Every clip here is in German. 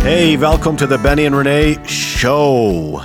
Hey, welcome to the Benny and Renee Show.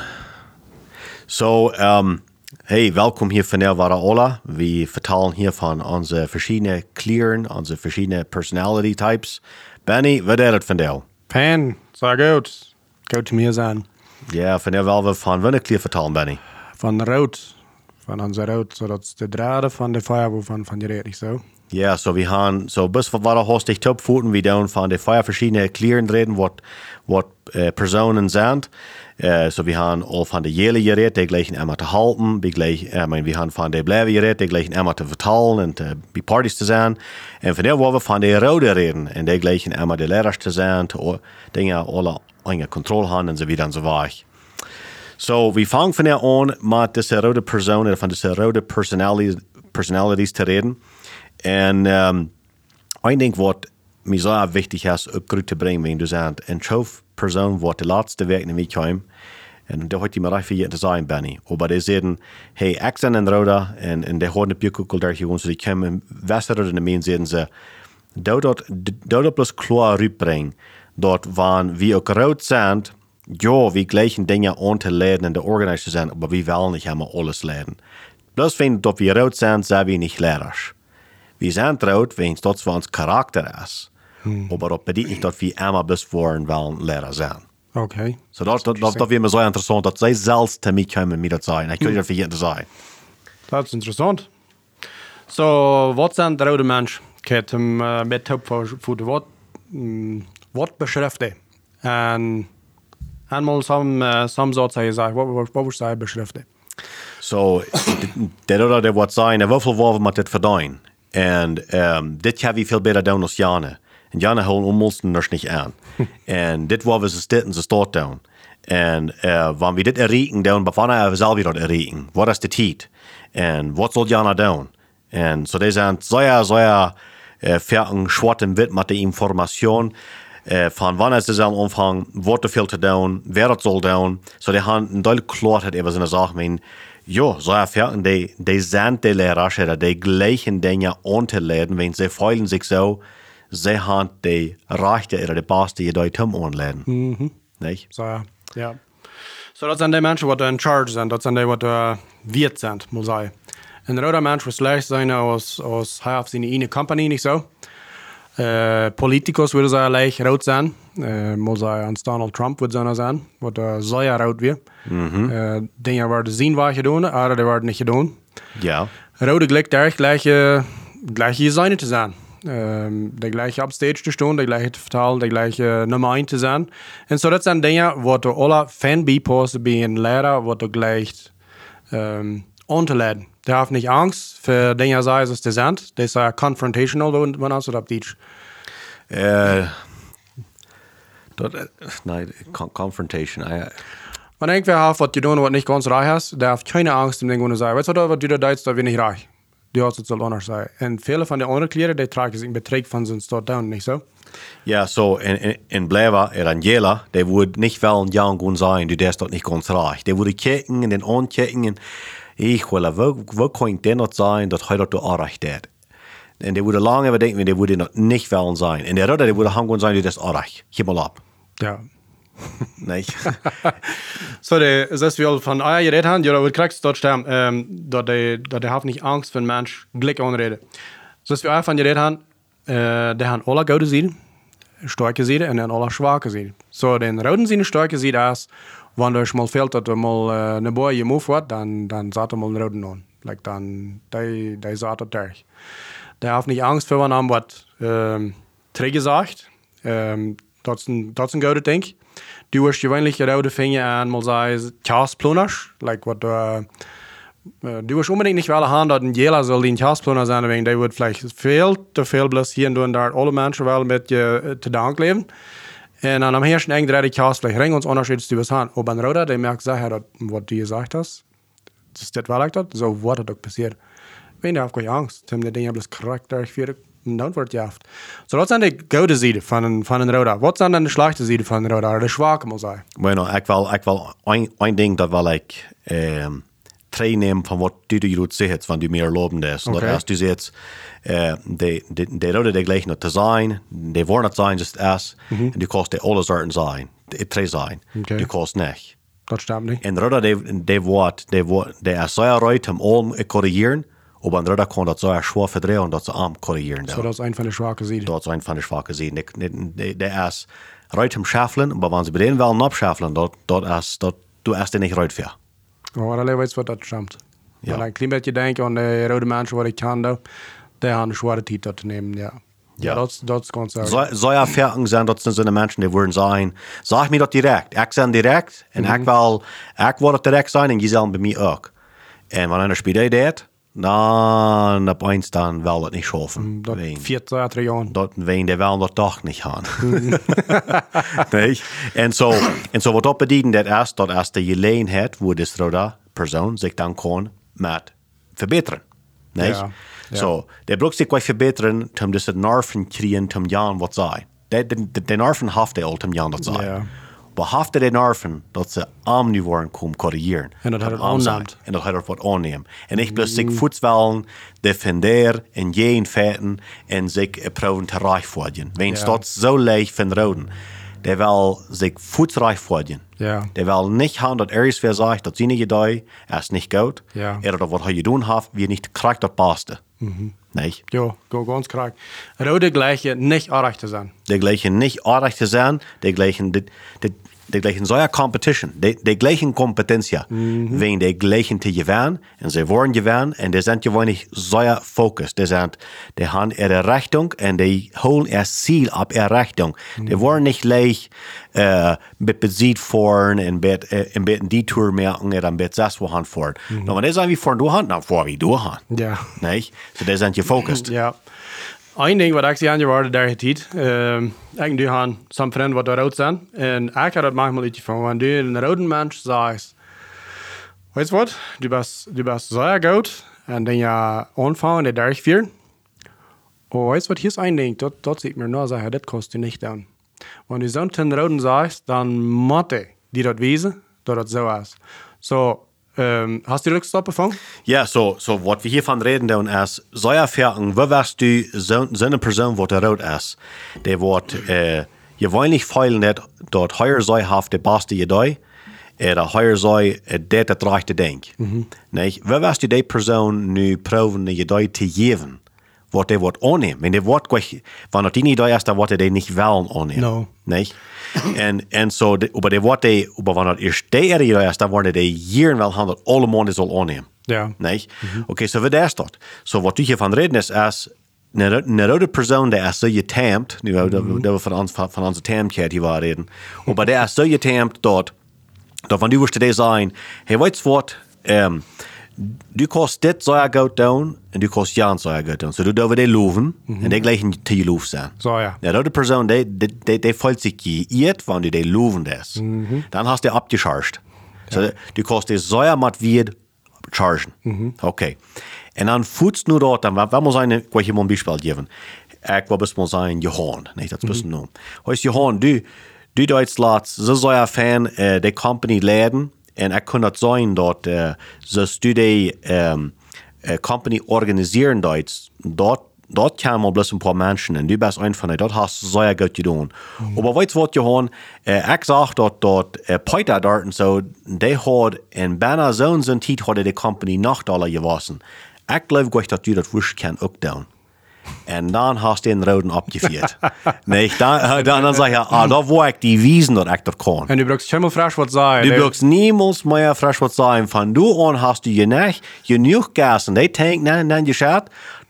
Hey, welkom hier von der Ola. Wir vertellen hier von unsere verschiedenen Kleren, unsere verschiedenen Personality Types. Benny, wat is het van jou? Pen, sehr gut. Gut zu mir sein. Ja, von der wollen wir von welcher Kleur vertellen, Benny? Von Rot. Von unser Rot. So, das ist der Draht von der Feuerwehr von der Rede, nicht so? Ja, so wir haben, so bis wir hast dich Topfuten, wir dann von den verschiedenen Kleren reden, was Personen sind. So wir haben all von der Jelle geredet, die gleichen einmal zu halten, wir haben von der Bleibe geredet, die gleichen einmal zu vertalen und bei Partys zu sein. Und von der wollen wir von der Rode reden, und die gleichen einmal die Lehrer zu sein, Dinge alle eine Kontrolle haben und so weiter und so weiter. So, wir fangen von der an, mit dieser rote Person, von dieser rote Personalities zu reden. Und ich denke, was mir sehr wichtig ist, auch zu bringen, wenn du sagst, eine Person, die die letzte Weg in mich kam, und da heute mir recht viel zu sagen, Benny. Aber die sagen, hey, ich bin ein Roder, und die haben eine Bierkuckel da hier, so die kommen Wasser oder in den sagen sie, dort bloß klar rüberbringen, dort waren wir auch rot sind, ja, wir gleichen Dinge anzuladen in der Organisation, aber wir wollen nicht immer alles laden. Bloß wenn dort wir rot sind, sind wir nicht lehrerisch. Wir sind rot, wenn es dort für uns Charakter ist. Aber das bedeutet nicht, dass wir immer bis vorhin wollen Lehrer sein. Okay. So das wäre mir so interessant, dass sie selbst zu mir kommen mit das sagen. Ich könnte das für jeden sagen. Das ist interessant. So, was sind die rote Menschen? Mit Topfoto, was beschreibt die? Und einmal some Satz gesagt, was würdest du beschreiben? So, der wird sagen, wie viel wollen wir mit das verdienen? Und das kann wir viel besser tun als Jana. Und Jana holen uns nicht an. Und das wollen wir so dort tun. Und wenn wir das erreichen, dann wann wir selber das erreichen? Was ist die Zeit? Und was soll Jana tun? Und so, die sind sehr fertig, schwarz und wild mit der Information. Von wann ist es am Anfang, was zu viel zu tun, wer das soll tun. So, die haben eine deutliche Klarheit über so eine Sache. Ja, so fertig, die sind die Lehrer, die gleichen Dinge anzuladen, wenn sie fühlen sich so, sie haben die Rechte oder die Beste, die zum Anladen. Mhm. Nicht? So, ja. So, das sind die Menschen, die in Charge sind, das sind die, die wert sind, muss ich sagen. Ein roter Mensch wird leicht sein aus seine eigene Company, nicht so. Politikus würde sagen, leicht rot sein. Muss sagen, Donald Trump würde sein, was sehr rot wird. Dinge werden sehen, was gedaan, aber die werden nicht gedaan. Ja. Rode gleich gleiche Design zu sein. Der gleiche Upstage zu stehen, der gleiche zu vertalen, der gleiche Nummer 1 zu sein. Und so, das sind Dinge, wo du alle Fan bist, bei einem Lehrer, wo du gleich anzuladen. Der hat nicht Angst für Dinge, sei es die sind. Das ist confrontational, wenn man das auf Deutsch. Nein, Confrontation. Wenn irgendwer hat, was du tun, was nicht ganz reich hast, der hat keine Angst, dem Ding zu sagen, weißt du, was du da denkst, da bin ich reich. Die hat es anders sein. Und viele von den anderen Klienten, die tragen sich in Betrag von so dort down, nicht so? Ja, so, in Bleiber, Angela, der würde nicht wollen, ja und sein, du darfst dort nicht ganz reich. Der würde kicken und den ankicken und ich will, wo kann der noch sein, dass heute du erreicht hat? Und der würde lange überdenken, der würde noch nicht wollen sein. Und der Rote, der würde haben sein, du das erreicht. Gib mal ab. Ja. Nicht? So, das ist wie von euer geredet haben, ja, da kriegst du dort sterben, dass der hat nicht Angst, wenn ein Mensch Glück anredet. So, das wir auch von geredet haben, der haben alle gute Seiten, starke Seiten und dann alle schwache Seiten. So, den roten Seiten starke Seite ist, wenn du mal fehlt, dass du mal eine Boy gemove wird, dann sagt er mal einen roten an. Like, dann, der sagt er durch. Der hat nicht Angst, wenn man was träge sagt. Das ist ein guter Ding. Du hast gewöhnlich rote Finger an, mal sagen, Chasplaners. Like, was du hast unbedingt nicht alle haben, dass ein Jela soll ein Chasplanner sein, wegen der wird vielleicht viel bloß hier und da alle Menschen wollen mit dir zu Dank leben. Und dann am ersten Ende die Chaos vielleicht ringen uns unterschiedlich zu was haben. Aber ein Roter, der merkt, was du gesagt hast, das ist das, was ich so was hat doch passiert. Wenn der hat keine Angst, dann der Ding bloß Charakter für dann wird ja oft. So, das sind die gute Seite von einem Roter. Was sind dann die schlechte Seite von einem Roter, oder die schwache, muss ich sagen? Bueno, ich will ein Ding, das will ich nehmen von was du jetzt siehst, wenn du mehr loben lässt. Okay. Als du siehst, die Rode die gleich noch zu sein, die wollen nicht sein, just erst, und du kannst die alle Sorten sein, drei sein. Okay. Du kannst nicht. Das stimmt nicht. En Rode, die ist sehr reit, um allem korrigieren, aber ein Rode kann das sehr schwer verdrehen, dass sie arm korrigieren. So, das ist eine von den schwachen Seiten. Dat is een van de zwakke zijden. Der is ruit om schaffelen, maar wanneer ze bij den willen opschaffelen, du erst nicht ruit für. Ja, dat weet wat dat stimmt. Ja. Ja. Een klein beetje denken aan de rode mensen wat ik kan doen, die hebben een zware tijd dat te nemen, ja. Ja. Dat is gewoon zo. Zou je erfaringen zijn dat zijn de mensen die worden zijn, zeg me dat direct. Ik zijn direct en ik wil het direct zijn en je zal bij mij ook. En wanneer een speel deed, dan op eens dan wel het niet schaffen. Dat 4 jaar. Dat ween die wel dat toch niet gaan. Nee? En zo wat op bedienen dat is de gelegenheid waar de rode persoon zich dan kan met verbeteren. Nee? Ja. So, der braucht sich gleich verbessern, um das Nerven kriegen, um Jan was sei. Der Nerven haft der um Jan das sei. Ja. Aber haft der Nerven, dass sie am nu waren kommen korrigieren. En dat had het Am sein. aanneemt. En dat hat er wat annehmen. En ich bloß sich voetswellen, defender en jeden feiten en sich proben te reich worden. Wenn Ja. dat so leicht von Roden, der will sich voetsreich worden. Ja. Der will nicht haben, dass wer sagt, dass sie nicht gedei, ist nicht gut. Ja. Oder was er getan hat, wie nicht kriegt das Beste. Nicht? Ja, ganz krank. Rode gleiche nicht erreicht zu sein. Die gleichen nicht artig zu sein, die gleichen so ja Competition, die gleichen Kompetenz ja, wenn die gleichen zu gewinnen, und sie wollen gewinnen, und die sind gewöhnlich so ja Fokus, die haben ihre Richtung, und die holen ihr Ziel ab ihrer Richtung. Die wollen nicht leicht mit Besieg fahren, und mit die Tour merken, oder mit das wohin fahren. Aber die sind wie fahren du Hand, dann fahren wie du Hand. Ja. Nicht? So die sind gefokust. Ja. Een ding wat ik zie aan je waarde daar tijd, ik doe aan some vrienden wat eruit zijn, en ik had het manchmal iets van, wanneer du een rode mens zegt, weet je wat, du bist zeer goed, en dan je aanvangen, die derg vier. Oh, weet je wat, hier is een ding, dat zie ik me nou zeggen, dat kost je niet dan. Wanneer du zo'n rode zegt, dan moet die dat wezen, dat het zo is. So, hast du die Rückstoppe von? Ja, so was wir hier von reden, dann ist, so erfahren, wo wirst du so eine Person, die rot ist, der wird, je wollen feilen, dort heuer sei haft der Beste jedei, oder heuer sei, der rechte Denk. Nicht? Wo wirst du die Person nu proben, jedei zu geben, was der wird annehmen? Wenn der wird gleich, wenn er die nicht da ist, dann wird er den nicht wollen annehmen. No. Nicht? En so, aber der wordt aber wenn er eerst de area is, dan worden die hier wel handel alle maanden zal aannemen. Ja. Nee? Oké, so wat is dat? So wat je van reden is, een rode persoon die is zo getemd, nu dat we van onze temdheid hier waren reden, maar die is zo getemd dat van du wirst die zijn, hey, weet je wat, du kost dit zo goed doen, en du kost Jan zo goed doen. So du dover die loven, en die gleichen te je loof zijn. So, ja. Ja, de persoon, die voelt zich geïerd, wanneer die loven is. Dan hast du abgecharged. So, du kost die zo mat weer chargen. Okay. En dan voetst nu dort, dan we moet zijn, ik wil je een Beispiel geven. Ik wil best wel zijn, Johan. Nee, dat is best noem. Hoe is Johan, du Duitsland, zo ja fan, de company leiden, en ik kan dat zijn dat ze die company organiseren dort kan man bloß ein paar Menschen, und du bist ein von denen, dort hast du sehr gut getan. Aber weißt du was, Johann, ich sag dort Peter dort und so, die hat in Banner so und so Zeit hat die Company Nachteile gewassen. Ich glaube gleich, dass du das wurscht kann auch tun. Und dann hast du den Roden abgeführt. Nicht? Dann sag ich, da wo ich die Wiesen dort echt kann. En du brukst helemaal frisch wat zijn. Du brauchst niemals mehr frisch was sein. Von du an hast du genug Gas und die Tank dann geschaut,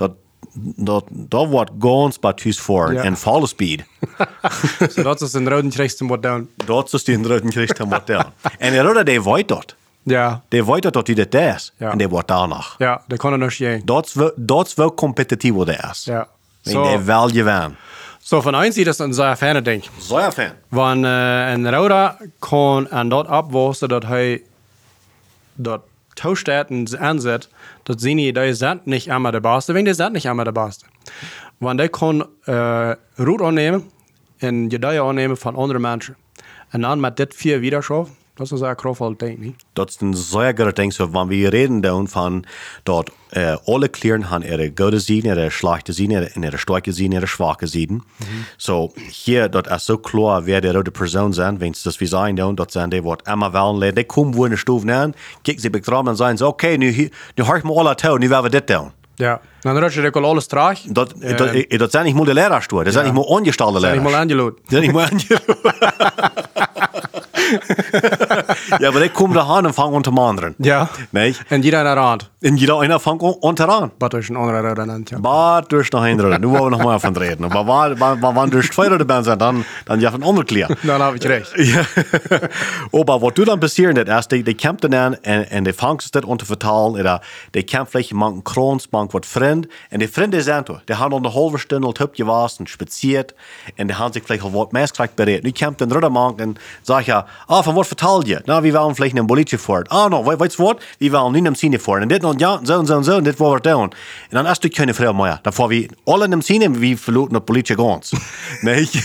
da wird ganz batüs vor Ja. en volle speed. So, dat is een rode kriegst wat doen. Dort ist die roten Christen wat down. En der Roder, der weet dat. Ja. Der weet dat die dat is. Ja. En der wordt danach. Ja, dat kan er nog geen. Dat is wel competitief wat der is. Ja. Wenn der wel gewinnen. So, von eins sieht das ein sehr ferne Ding. So ja, fan. Wenn ein Roder kann an dort abwassen, dass er dort Tauschstätten ansetzt, dass sie nicht, die sind nicht einmal der Beste, wenn die sind nicht einmal der Beste. Wenn der kann Rot annehmen und Gedeihe annehmen von anderen Menschen und dann mit das 4 wieder schaffen, Dat is een krofval ding, niet? Dat is een zeer groot ding. So, wanneer we reden dan van dat alle kleren haben ihre gute Seiten, ihre schlechte Seiten, ihre starke Seiten, ihre schwache Seiten. So, hier, dat is so klar, wer die rode Person zijn, wenn das wir sein dann, dat zijn die, wat immer wollen lernen. Die kommen wo in de stof aan, kijken ze betrachten en zeggen, okay, nu hör ich mal alle toe, nu werden wir dit doen. Ja, dan rutsch je ook alles traag. Dat zijn niet maar de leraarstoer, dat zijn niet maar ongestelde leraars. Dat zijn niet maar aangeloot. Dat zijn niet maar aangeloot. Ja, aber die kommen da an und fangen an zu mandern. Ja. Nee? En jeder naar aan. En jeder einer fängt an zu ran. Wat is een andere rode land, ja. Maar durch noch ein Röder. Nu wollen wir noch mal davon reden. Aber wann durch zwei Röder sind, dann ja von anderen klar. Dan heb ik recht. Ja. Aber was du dann passieren, ist, die kämpfen dann und die fangen sich das an zu vertalen, oder die kämpfen vielleicht manchen Krons, manchen was Freund, und die Freunde sind da. Die haben eine halbe Stunde Typ gewaschen, spaziert, und die haben sich vielleicht auch was mehr berät. Nu kämpft ein Röder manchen und sagt ja, von was vertalt ihr? Na, wir wollen vielleicht einen Bolitje fort. No, weißt du was? Wir wollen nicht im Cine fort. Und das und ja, so und so und so, und das war wir down. Und dann hast du keine Frau mehr. Dann fahren wir alle im Cine, wir verloren das Bolitje ganz. Nicht?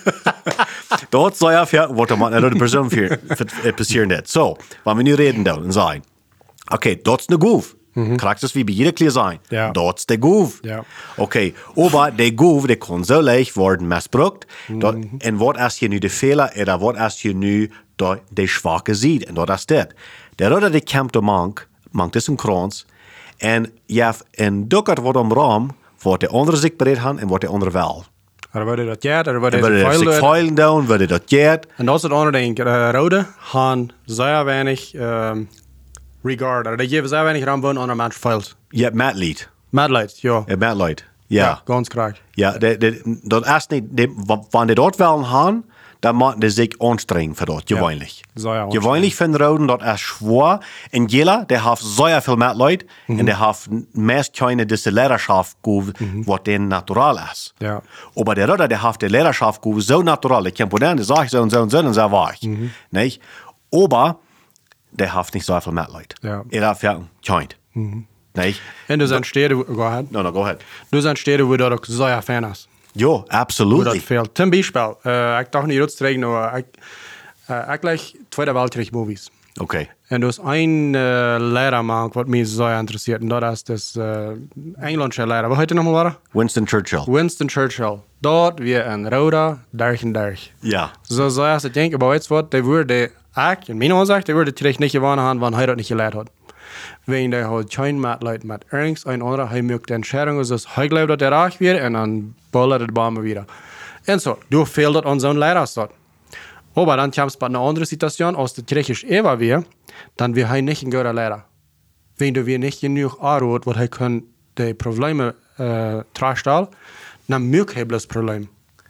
Dort soll ja, was da mal eine Person passieren wird. So, wenn wir nicht reden da und sagen, okay, dort ist eine Goof. Kriegst es wie bei jeder Klier sein. Ja. Dort ist der Goof. Ja. Okay, aber der Goof, der kann so leicht werden missbraucht. Und was ist hier nu der Fehler, oder was ist hier nu der schwache Seite? Und das ist das. Der Röder, der kämpft mangt das im Kranz. Und ja, en dukkert wordt om raam, wat de andere zich bereid haben en wat de andere wel. Er wordt dat geld, er wordt zich feilen doen, wordt dat geld. En dat is het andere ding. Rode gaan zeer weinig regard. Die geven zeer weinig raam aan andere mensen feilt. Ja, matleid. Matleid, ja. Ja, matleid. Ja. Ganz graag. Ja, dat is niet, wanneer die dat wel gaan, dan moeten die zich anstrengen voor dat, gewöhnlich. Ja. Gewöhnlich van Roden, dat is schwer. En Jela, der heeft zeer veel matleid, en der heeft meest keine diese Lehrerschaft gegeven, wat den natural is. Ja. Aber der Roder, der heeft de Lehrerschaft gegeven, so natural, ich kann po den, der sagt so und so und so und so war ich. Nicht? Aber, der heeft nicht so viel matleid. Ja. Er heeft ja kein. Nicht? En er zijn steden, go ahead. No, go ahead. Er zijn steden waar dat ook zeer fijn is. Ja, absoluut. Dat veel. Ten Beispiel, ik dacht niet uitstrekken, maar ik leg Tweede Weltkrieg movies. Okay. En er is een leraar wat mij zeer interesseert. En dat is de Engelse leraar. Wat heet hij nochmal? Winston Churchill. Winston Churchill. Dat weer een rode derg. Ja. Zo zou je denken, maar weet je wat, die wordt in mijn aanzicht, die wordt het terecht niet gewonnen hebben, want hij dat niet geleerd had. Wenn der halt kein Matleid mit irgendein ein anderer, hij mögt Entscheidungen, dus hij glaubt, dat er reich wird, en dan ballert het Bäume wieder. En so, du fehlt das an so einem Lehrer. Aber dann kommst du bei einer anderen Situation, als der Griechisch Eva wir, dann wir nicht ein guter Lehrer. Wenn du wir nicht genug anrot, was er kann die Probleme tragstellen, dann mögt er das Problem.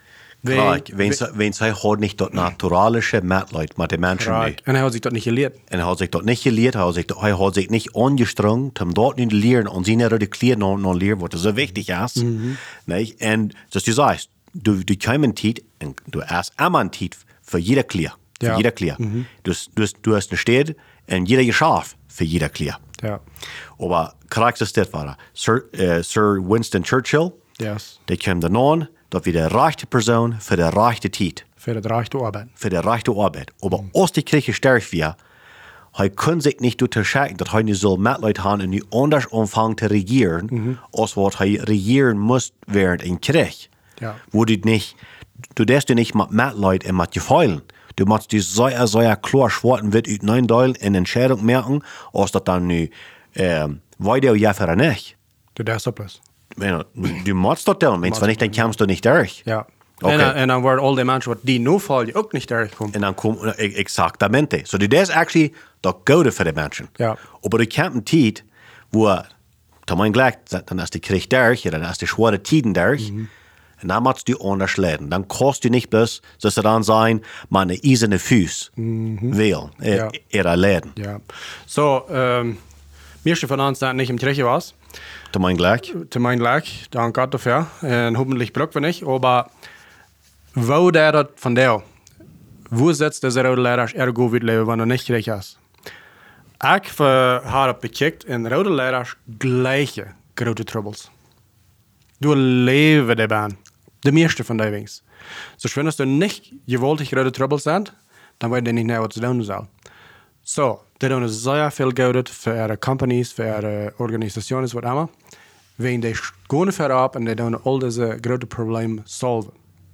Wenn zij hat nicht das naturalische Matleid mit den Menschen nicht. Und er hat sich das nicht gelehrt. Und er hat sich das nicht gelehrt, er hat sich nicht angestrengt, um dort nicht zu lernen und sie nicht die noch lernen, was so wichtig ist. Nicht? Und das du sagst, du kommst eine Zeit, und du hast immer eine Zeit für jeder Klier. Für jeder Klier. Du hast eine Stadt und jeder Geschäft für jeder Klier. Ja. Aber kriegst du das war Sir Winston Churchill, Yes. der kam dann an, dat wir de rechte Person für de rechte Tijd. Für die rechte Arbeit. Für de rechte Arbeit. Aber als die Kirche sterk wird, hij kann sich nicht unterscheiden, dass hij nu soll Mitleid haben und nu anders anfangen zu regieren, als was hij regieren muss während ein Krieg. Ja. Wo du darfst du nicht mit Mitleid und mit Gefallen. Du musst die sehr klar schwarzen wird uit neun Teilen in Entscheidung merken, als dat dann nu weiter ja für nicht. Du darfst das. Du musst das tun, wenn nicht, dann kommst du nicht durch. Ja. Okay. En dan worden al die mensen die nu vallen ook niet terugkomen. En dan komt exactamente. So dat is actually dat goede voor de mensen. Ja. Maar er komt een tijd waar, tot mijn gelijk, dan is de krieg durch, dan is de schwere tijden durch. En dan moet je anders leren. Dan kost je niet bloß, dat ze dan zijn, maar een eiserne Fuß wil. Er leren. Ja. So, meeste van ons dat niet im Kirche was. Tot mijn gelijk. Zu mein Glück, dank Gott dafür. Und hoffentlich braucht wir nicht. Aber wo der das von der, wo setzt der rode Lehrer ergo wird leben, wenn er nicht recht ist? Ich habe bekickt in rode Lehrer gleiche große Troubles. Du lebst der Bahn. De meeste von den Wings. So, wenn es nicht gewollt rode Troubles sind, dann weiß ich nicht mehr, was zu tun soll. So, die doen sehr viel Geld für ihre Companies, für ihre Organisationen, was immer. Wenn die gehen verab und die doen all diese großen Probleme solven.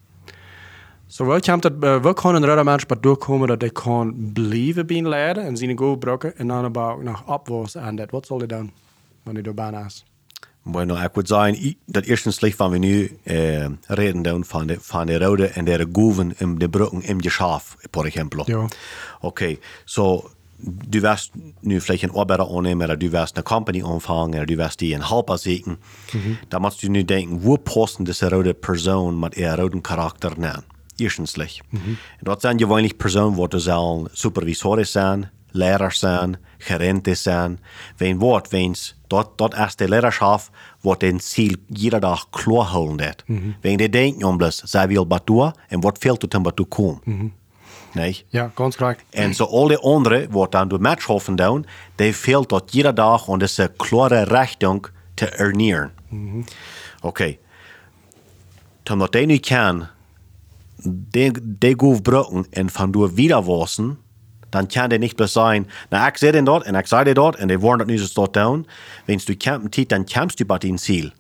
So, we kunnen er mensen bij doorkomen dat die kan blijven bij leren en zijn goed gebruiken en dan about nog opwas aan dat. Wat zal die doen, wanneer die bijna is? Bueno, ik würde sagen, dat eerstens van we nu reden doen van de rode en de goeven in de brücken im Geschäft, por ejemplo. Ja. Okay, so du wirst nu vielleicht einen Arbeiter annehmen oder du wirst eine Company anfangen oder du wirst die einen Helper suchen. Da musst du nu denken, wo passen diese rote Person mit ihrem roten Charakter nennen? Eerstenslich. Dat zijn gewöhnlich Personen, die sollen Supervisoren zijn, Lehrer zijn, Gerente zijn. Dat is de Lehrerschaft, wat den Ziel jeder Dag klar houden dat. Wenn die denken om dus, zij wil wat doen en wat fehlt het om wat te komen. Nee? Ja, ganz korrekt. En zo al die anderen, wat dan door Matchhofen doen, die fehlt dat jeder Dag om deze klare Richtung te ernähren. Okay. Omdat die nu kan, die goed gebruiken en van door wieder wassen, dan kan die niet plus zijn, nou ik zei dat en ik zei dat en die worden dat nu zo doen. Wenn du kämpft, dan kämpfst du bij een ziel.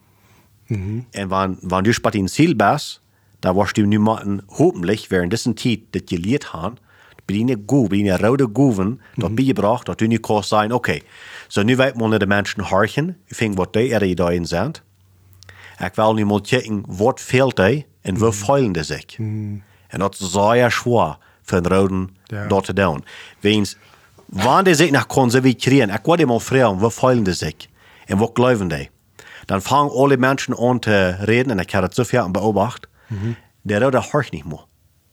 En wanneer du bij een ziel bist, dan wirst du nu maken, hoffentlich, während dieser Zeit, das geleerd haben, bij die rode goeven, dat bijgebracht, dat du nu kan zijn, okay, so nu weet man de mensen horchen, ik vind wat die ihre ideeën zijn. Ik wil nu mal kijken, wat fehlt die en waar feilen die zich. En dat is zeer schwer voor een roden dat te doen. Wanneer die zich nog conservieren, ik wil die mal vragen, waar feilen die zich en wat geloven die. Dan fangen alle mensen aan te reden, en ik heb het zoveel beobacht, der rode horcht niet meer.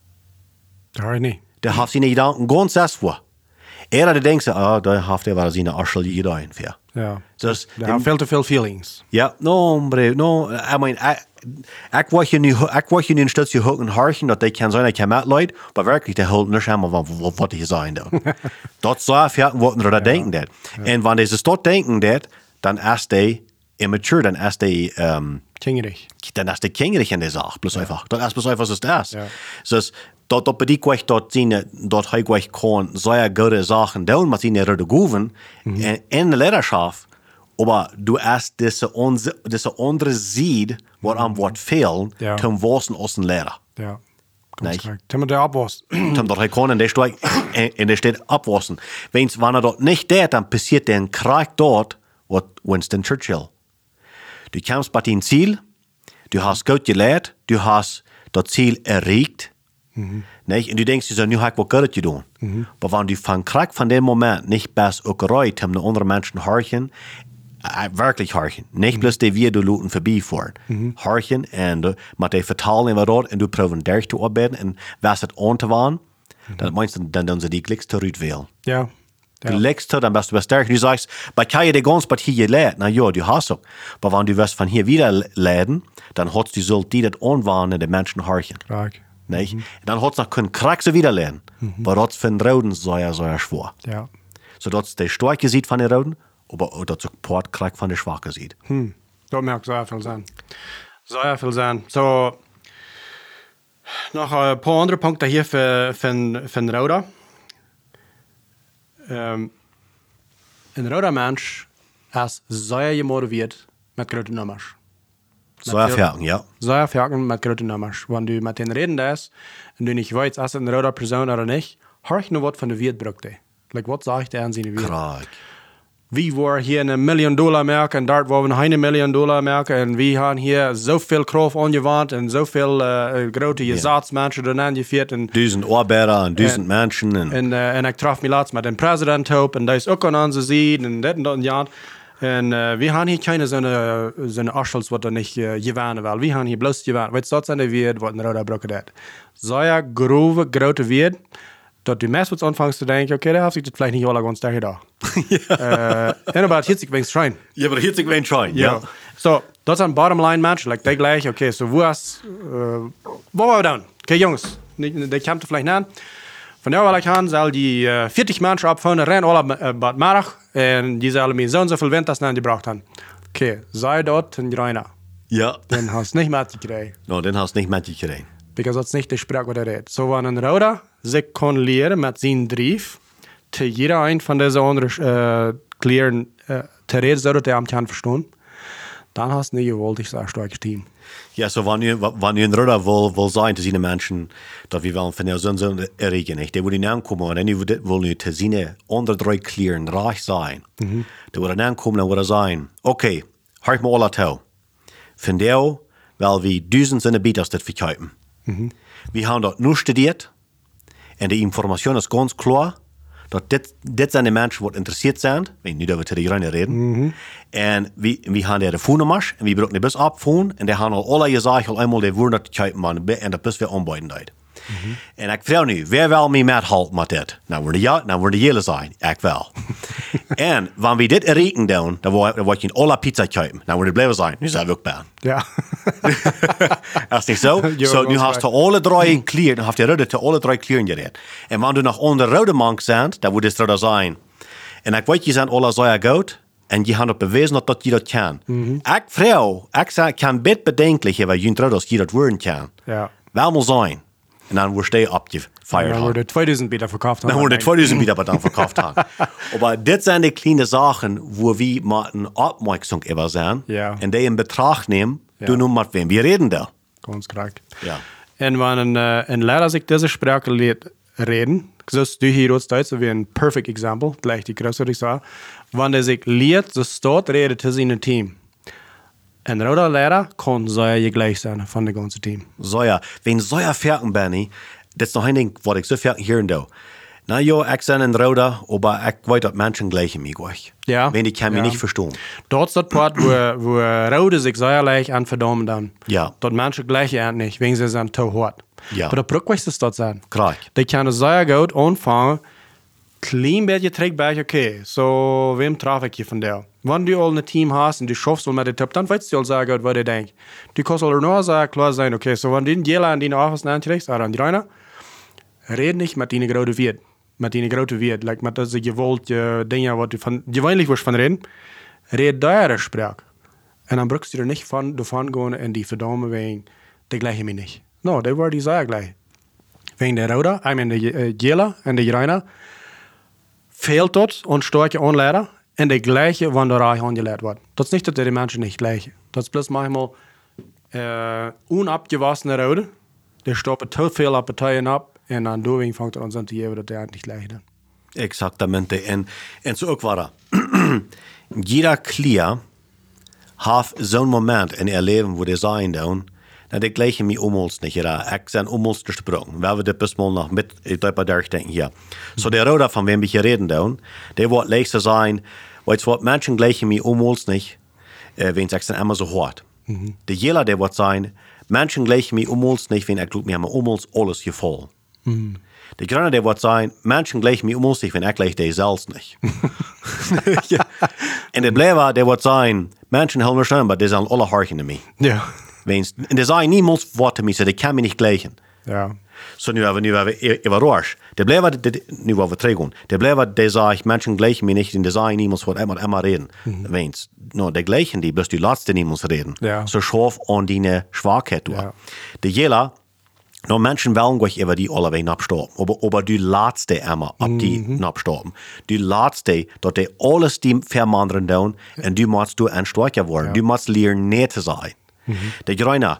Daar niet. Der heeft zijn gedanken ganz selbst voor. Die denkt, daar heeft hij wel zijn arschel gedaan voor. Ja. Dus, Daar hebben veel te veel feelings. Ja, hombre, I mean, ik word je nu een stukje hoog harchen, dat ik kan zijn, ik kan met leid, maar werkelijk, die hulp niet helemaal van wat die zijn dan. Dat zou vergeten wat er denken dat. En wanneer ze dat denken dat, dan is die immature, dan is die Kingerig. Dan is die kingerig in de zaak, plus einfach. Dat is plus einfach, was het is. Ja. Dus dat betekent dat hij kan zeer goede zaken doen met zijn rode goeven in de leiderschap. Aber du hast diese andere Seed, wat am Wort fehlt, zum Wassen aus dem Lehrer. Ja. Ganz korrekt. Zum der abwassen. Zum der kann in der steht abwassen. Wenn das nicht tut, dann passiert der Krieg dort, was Winston Churchill. Du kommst bei dein Ziel, du hast gut gelehrt, du hast das Ziel erreicht. Nicht? Und du denkst, nu habe ich was Gutes getan. Aber wenn du von Krieg von dem Moment nicht bist, auch gereut, um andere Menschen horchen, wirklich horchen. Nicht bloß die wir du Leuten vorbeifahren. Horchen und mit die vertalen wat dort und du proben durch zu arbeiten und was het an te waren, dann meinst du, dann doen sie die Glückste wählen. Ja. Die Glückste, dann bist du stärker. Du sagst, bei kann je die ganz bei hier gelehrt, na ja, du hast auch. Aber wenn du wirst von hier wieder leiden, dann hast du so die das anwarnen, die Menschen horchen. Klar. Nicht? Dann hat es noch keinen Krieg so wieder lernen. Aber das für den Roden sehr schwer. Ja. So dass der Starke sieht von den Roden, aber auch der Supportkrieg von den Schwachen sieht. Dat mag sehr viel sein. Sehr viel sein. So, noch ein paar andere Punkte hier für Roda. Ein Roda Mensch ist sehr motiviert mit großen Nummern. Sehr fertig, ja. Sehr fertig mit großen Nummern. Wenn du mit denen reden darfst und du nicht weißt, ist es eine Roda Person oder nicht, horch nur was von der Wirt braucht. Like, was sagt der an seine Wirt? Krieg. Wir waren hier $1 Million merken en dort waren we $1 Million merken en we hebben hier zoveel Kraft angewandt en zoveel grote Gesatzmenschen dan aangevierd. 1000 Arbeiter en 1000 Menschen. En ik traf me laatst met een president op en die is ook aan onze zijde en dit en dat en ja. En we hebben hier keine zo'n Arschels wat er niet gewannen wil. We hebben hier bloß gewannen. Weet je, dat zijn de woorden wat een Roda brokken deed. Zo'n grove, grote woord. Dat du meest anfängst zu denken, okay, da hast du das vielleicht nicht alle ganz da. En aber 40 wenigstens schreien. Ja, aber 40 wenigstens schreien, ja. So, das ist ein Bottom-Line-Match, like der gleich, okay, so wo waren wir dann? Okay, Jungs, die kämpfen vielleicht nicht. Von der will ich an, soll die 40 Menschen abfahren, rennen alle Bad Marach, und die sollen mir so und so viel Wind, das die gebraucht haben. Okay, sei dort in Greiner. Ja. Den hast du nicht mitgekriegt. No, den hast du nicht mitgekriegt. Because dat is niet de spraak wat hij redt. Zo van een Roda zich kon leren met zijn drief zu jeder ein von dieser anderen Klieren zu reden, so dass der am kann verstehen, dann hast du nicht gewollt, sehr starkes Team. Ja, so wanneer een ridder wil zijn te zien mensen dat we wel van zo'n erregen, die willen aankomen en die willen nu te zien onder drie kleren reich zijn. Die willen aankomen en willen zijn, oké, hart me alle toe. Van jou, wel we duizenden bieders dat verkopen. We hebben dat nu studeerd en de informatie is ganz klar. Dat dit zijn de mensen die geïnteresseerd zijn. Nu dat we tegen de Rijn reden. En we hebben de telefoonnummer en we gebruiken de bus opvoeren. En die hebben al alle gezegd al eenmaal die willen dat kijken man en dat bus weer aanbieden deed. En ik vraag nu, wie wil mij methelpen met dit? Nou worden jullie zijn, ik wel. En wanneer we dit rekenen doen, dan word je in alle pizza kijken. Nou worden blijven zijn, nu zijn we ook bij. Ja. Dat is niet zo. Zo nu hast du alle drie kleren, dan heeft je rode te alle drie kleren gereden. En wanneer du nog onder rode mank bent, dan moet het er zijn. En ik weet, je zijn alle zeer goed. En je hebt bewezen dat je dat kan. Ik vraag, ik kan best bedenkelijk hebben, je dat je dat worden kan. Ja. Wel moet zijn. En dan word je opgefeiert. Dan worden 2000 Bieder verkauft. Dan worden 2000 Bieder dan verkauft. Maar dit zijn de kleine zaken waar we met een opmerksam over zijn. Ja. En die in betracht nemen, doen met wem we reden daar. Ganz korrekt. Ja. En wanneer een leraar zich deze spraak leert reden, zoals du hier als Duitser wie een perfect example, gleich die größere ich sage, wanneer zich leert, zo staat reden te zijn team. En rode leraar kan zeer je gleich zijn van het ganze team. Zeer. Wenn zeer fertig ben, dat is nog een ding wat ik zo fertig hier doe. Nou ja, ik ben een rode, maar ik weet dat mensen gleich mij gleich. Ja. Wenn ik kan mij niet verstaan. Dort ist das Part, wo Rode sich sehr leicht an verdammen dann. Ja. Dort manche gleich nicht, wegen sie sind zu hart. Ja. Aber der Brückwächst ist dort sein. Klar. Die können sehr gut anfangen, klein beetje trägbar, okay, so wem traf ich hier von der? Wenn du all ein Team hast und du schaffst mit dem Tipp, dann weißt du all sehr gut, was du denkst. Du kannst auch nur sehr klar sein, okay, so wenn du jeder an deine Office anträgst, oder an die Reiner, red nicht mit deinen großen Wert. Met die grote Wert, like met dat je wilt, dingen wat je weinig was van reden, red daar spraak. En dan brukst je er niet van gaan en die verdomme wegen, die gleichen mir nicht. No, die worden die sehr gleich. Wegen der Roda, I mean de Jela en de Reiner, fehlt dort und starke Anleider en de gleiche, wann der Reich angeleert wordt. Dat is niet dat die Menschen nicht gleiche. Dat is bloß manchmal unabgewassene Roda, die stoppen te veel Appeteien ab. En dan doorweg vangt er ons aan te geven dat hij niet ligt. Exactamente. En zo ook waar. Jeder Klier heeft zo'n moment in haar leven waar hij zijn doen, dat ik gleich mij omhols niet. Ik zijn omhols gesproken. We hebben dit best wel nog met bij daar denken hier. Zo de rode van wem we reden doen, die wordt leegste zijn, weet je wat, mensen gleich mij omhols niet, wens ik zijn immer zo hard. De jela die wordt zijn, mensen gleich mij omhols niet, wenn ik doe mir omhols alles geval. De Grüne, der wird sein, Menschen gleich mir sich, wenn gleich die selbst nicht. Ja. Und der Bleiber, der wird sein, Menschen helfen mir schon, aber die sind alle horchen in mich. Ja. Und der sagen niemals Worte mir, die kann mich nicht gleichen. Ja. So nu hebben we überrascht. Der Bleiber, nu hebben we teruggaan. Der Bleiber, der sagt, Menschen gleichen mir nicht, und der sagen niemals, was immer reden. Weens, no, der gleichen, die bist die Letzte niemals reden. Ja. So scharf an deine Schwachheit. Ja. Der Jela, no, mensen willen gleich über die alle wegen abstorben. Aber die Letzte immer ab die abstorben. Die Letzte, dat die alles die vermandern doen, en du musst du ein Stärker worden. Ja. Du musst lernen, nicht zu sein. Der Grüne,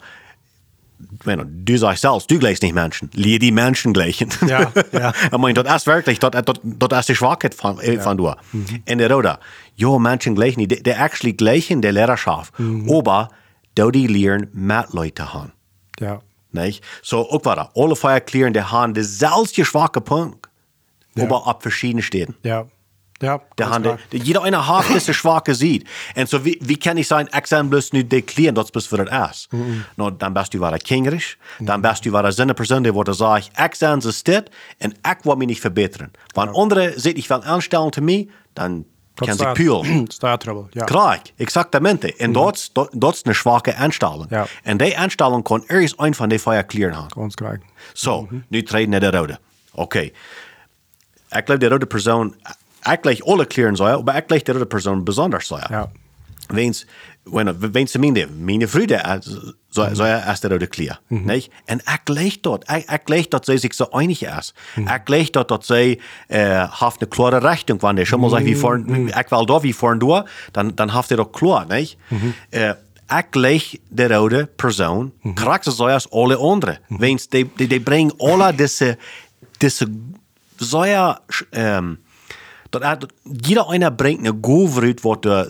du sagst selbst, du gleichst nicht Menschen. Lehr die Menschen gleichen. Ja, ja. Ich meine, das ist wirklich, das ist die Schwachheit von du. Und der Roda, ja, Menschen gleichen nicht. Die actually gleichen der Lehrerschaft. Aber, die lernen mit Leute haben. Ja. Nicht? So, auch war alle Feierklären, die haben denselben schwachen Punkt, aber ab verschiedenen Städten. Ja. Ja. Jeder eine hat diese Schwache sieht. Und so, wie kann ich sagen, ich sage bloß nicht deklären, das bist für das ist. No, dann bist du wieder kängerisch, dann bist du wieder so eine Person, die würde sagen, ich sage es steht und ich will mich nicht verbessern. Wenn andere sich nicht anstellen zu mir, dann kann sich pülen. Trouble, ja. Klar, exaktamente. Und das ist eine schwache Einstellung. Ja. Und die Einstellung kann erst ein von den Feierklären haben. Ganz korrekt. So, nu treden naar de rode. Oké. Ik geloof de rode persoon, ik gleich alle kleren zijn, maar ik gleich de rode persoon besonders zijn. Ja. Weens, Bueno, wenn ze meine Früde, so erst der rode Klier, nicht? Und ich leg dort, sie sich so einig ist. Ich leg dort, dass sie, haft eine klare Richtung, wenn der schon mal sagt, wie vorn, ich will da, wie vorn du, dann haft er doch klar, nicht? Ich leg der rode Person, kraxe so als alle andere. Wenn die bringen alle diese, so jeder einer bringt eine Gove was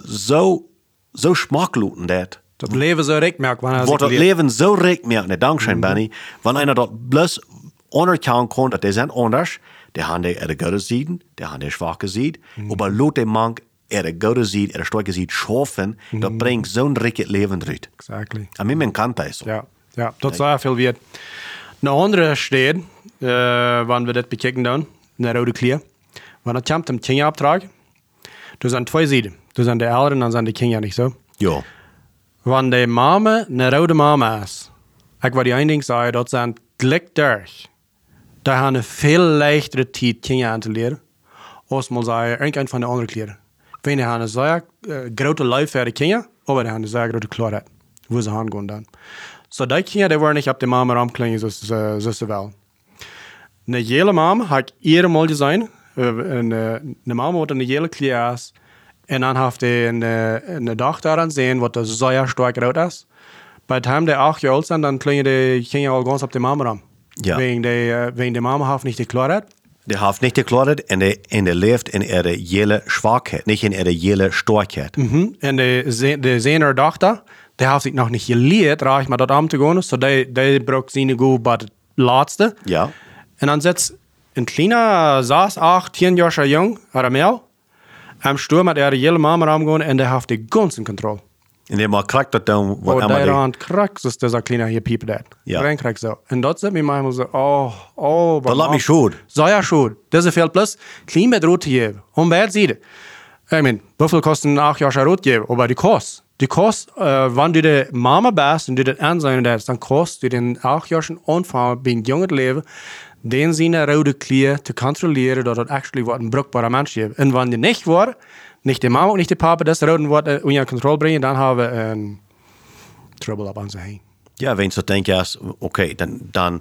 so schmackluten dat. Dat Leben so recht Wat dat leven zo recht merkt, dankzij Benny. Wenn einer dat bloß anerkennen kann, dass die sind anders, der haben die gute Seiten, der haben die schwache Seiten, aber lot den Mann gute Seiten, starke Seiten schaffen, das bringt so ein richtiges Leben rein. Exactly. A mir kann das so. Ja, dat sehr viel wert. Eine andere steht, wenn wir das bekicken dann, eine rode Klier. Wenn das kommt im Kinderabtrag, du sind zwei Seiten. Du sind die Eltern, dann sind die Kinder nicht so. Ja. Wenn die Mama eine rode Mama ist, ich will die ein Ding sagen, das sind Glück durch. Da haben eine viel leichtere Zeit, Kinder anzulernen, als mal sagen, irgendein von den anderen Klieren. Wenn die haben eine sehr große Life für die Kinder, aber die haben eine sehr große Klarheit, wo sie hingehen dann. So die Kinder, die wollen nicht auf die Mama rumklingen, so sie will. Eine jede Mama hat ihre Mal gesehen, eine Mama, die eine jede Klier ist, und dann hat die eine Tochter dann sehen, was das sehr stark rot ist. Bei dem die 8 Jahre alt sind, dann klingen die Kinder all ganz auf die Mama rum. Ja. Wegen die Mama hat nicht die Klarheit. Die hat nicht die Klarheit und die lebt in ihrer jelle Schwachheit, nicht in ihrer jelle Starkheit. Und die sehen ihre Tochter, die hat sich noch nicht gelehrt, reich mal dort am zu gehen, so die braucht sie nicht gut bei der Letzte. Ja. Und dann sitzt ein kleiner, 6, 8, 10 Jahre jung, oder mehr, am Sturm hat ihre Mama rumgehen und der hat die ganze Kontrolle. Und der mal kriegt das dann, was immer der Rand kriegt, ist dieser kleine hier Pieper das. Ja. Rein kriegt so. Und dort sind wir manchmal so, das lässt mich schon. So ja schon. Das ist viel plus, klein mit Rot geben. Und wer sieht es? Ich meine, wie viel kosten 8 Jahre Rot geben? Aber die Kost, wenn du die Mama bist und du das ansehen darfst, dann kostet du den 8 Jahren Anfang beim jungen Leben, den seine rote Klier zu kontrollieren, dass das actually ein brauchbarer Mensch ist. Und wenn die nicht war, nicht die Mama und nicht die Papa, das rote Wort unter Kontrolle bringen, dann haben wir Trouble ab uns hin. Ja, wenn du denkst, okay, dann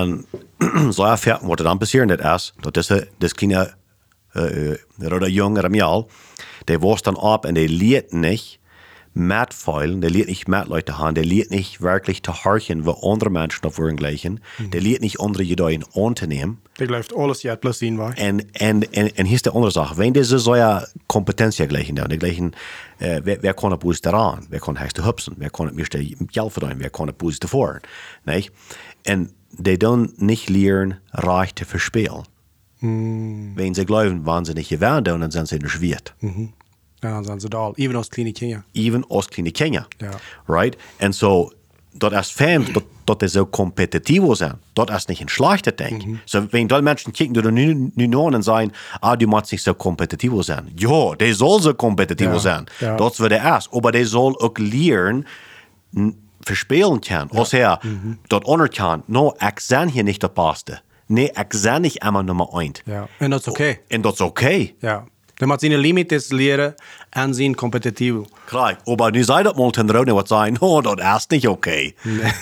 so erfährt, was dann passieren das das kleine rote Junge Ramial, der wurst dann ab und der liert nicht mitfeilen, der liert nicht mit Leute haben, der liert nicht wirklich zu horchen, wo andere Menschen auf ihren gleichen, der liert nicht andere Ideen anzunehmen. Der läuft alles jetzt plus ihn war. Und hier ist die andere Sache, wenn diese so ja Kompetenz ja gleichen, der gleichen, wer kann ein Bus daran, wer kann heißt hüpfen, wer kann mir Geld verdienen, wer kann ein Bus davor, nicht? Und die dann nicht lernen, reich zu verspielen. Wenn sie glauben, wenn sie nicht gewähren, dann sind sie in der Schwert. Ja, dann sind sie da, even als kleine Kinder. Even als kleine Kinder. Ja. Right? Und so, dat is fijn dat die zo competitief zijn. Dat is niet een slechte ding. So, wenn die Menschen kijken, die nu aan en zeggen, du moet niet zo competitief zijn. Ja, die zal zo competitief zijn. Ja. Dat is wat er is. Maar die zal ook leren, verspelen kunnen. Als dat anerkennen, no, ik ben hier niet de beste. Nee, ik ben niet immer Nummer 1. Ja. En dat is oké. En dat is oké. Ja. Dan moet zijn limites leren en zijn competitief. Klar, aber nu zei dat mal ten Rode wat zijn, no, dat is niet oké.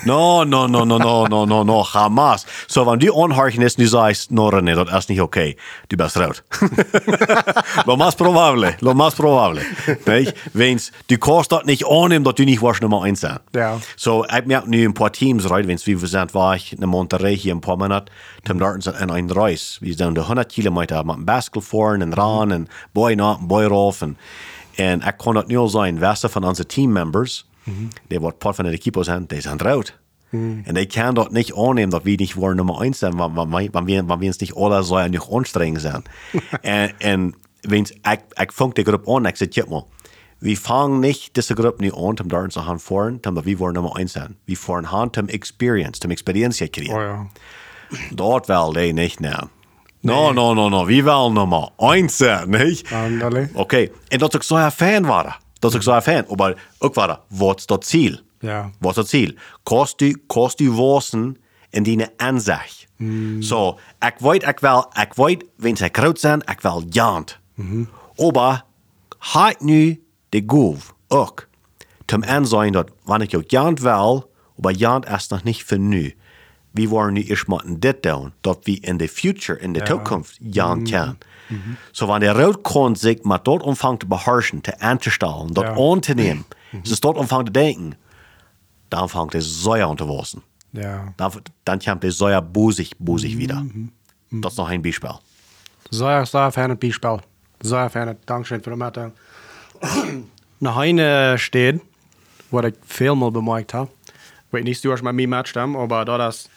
No, Hamas. So, wenn du anhorchen ist, nu sagst, no, René, dat is niet oké. Du bist rood. Lo más probable. Nicht? Wenn's, du kannst dat nicht annehmen, dass du nicht warst Nummer 1 sein. Ja. So, ich merke nu ein paar Teams, right, wenn's wie wir sind, war ich in Monterrey hier ein paar Monate, Tim Dartens in ein Reis. Wir sind 100 Kilometer mit dem Basketball fahren und ran und Boy nach, Boy rauf und ich kann das nur sein, weißt von unseren Team-Members, die was Part von der Equipe sind, die sind rot. Und die können das nicht annehmen, dass wir nicht wollen Nummer 1 sind, wenn wir uns nicht alle so nicht anstrengen sind. Und wenn ich fange die Gruppe an, ich sage, guck mal, wir fangen nicht diese Gruppe nicht an, um da zu fahren, um wir wollen Nummer 1 sein. Wir fahren an, um Experience kriegen. Oh ja. Dort will die nicht nehmen. No. Wir wollen Nummer 1 sein, nicht? Andale. Okay. Und dat ik zo een fan waren. Maar ook waren, wat is dat Ziel? Ja. Wat is dat Ziel? Kost u wassen in die aanzicht. So, ik weet, wenn ze groot zijn, ik wil jant. Maar, had nu de goef ook, zum Ansehen, dass, wenn ich auch jant will, aber jant erst noch nicht für nu. Wie wollen nu erst mal das tun, dass wir in der Future, in der Zukunft jant können. So, wenn der Rotkorn sich mal dort anfängt zu beherrschen, zu anzustellen, dort anzunehmen, es dort anfängt zu denken, dann fängt der Säuer an zu wachsen. Ja. Dann kommt der Säuer busig wieder. Das ist noch ein Beispiel. Sehr ferne Beispiel. Sehr ferne. Dankeschön für die Meldung. Noch eine steht, was ich viel mal bemerkt habe. Ich weiß nicht, du hast mit mir mitgestimmt, aber da das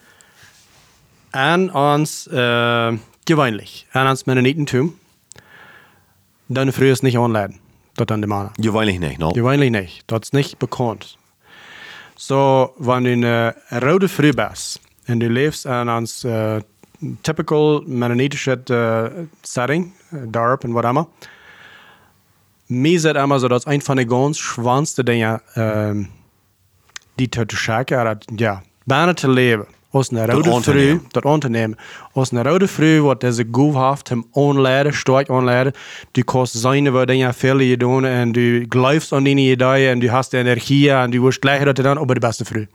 an uns gewöhnlich, an uns Mennonitentum, dann früh ist nicht anladen. Das dann die Männer. Gewöhnlich nicht, no? Gewöhnlich nicht. Das ist nicht bekannt. So, wenn du eine rode Früh bist und du lebst in uns typical mennonitische Setting, Dorp und was immer, mir sagt immer so, dass ein von den ganz schwanste Dinge, die zu schauen, ja, bijna te leben. Aus einer rode Früh, das Unternehmen, aus einer rode Früh, wat deze Goefhaft hem aanleiden, stark aanleiden. Du kannst seine Dinge viel doen en du glaubst an deine Ideen en du hast die Energie en du wirst gleich dat dann über die beste Früh.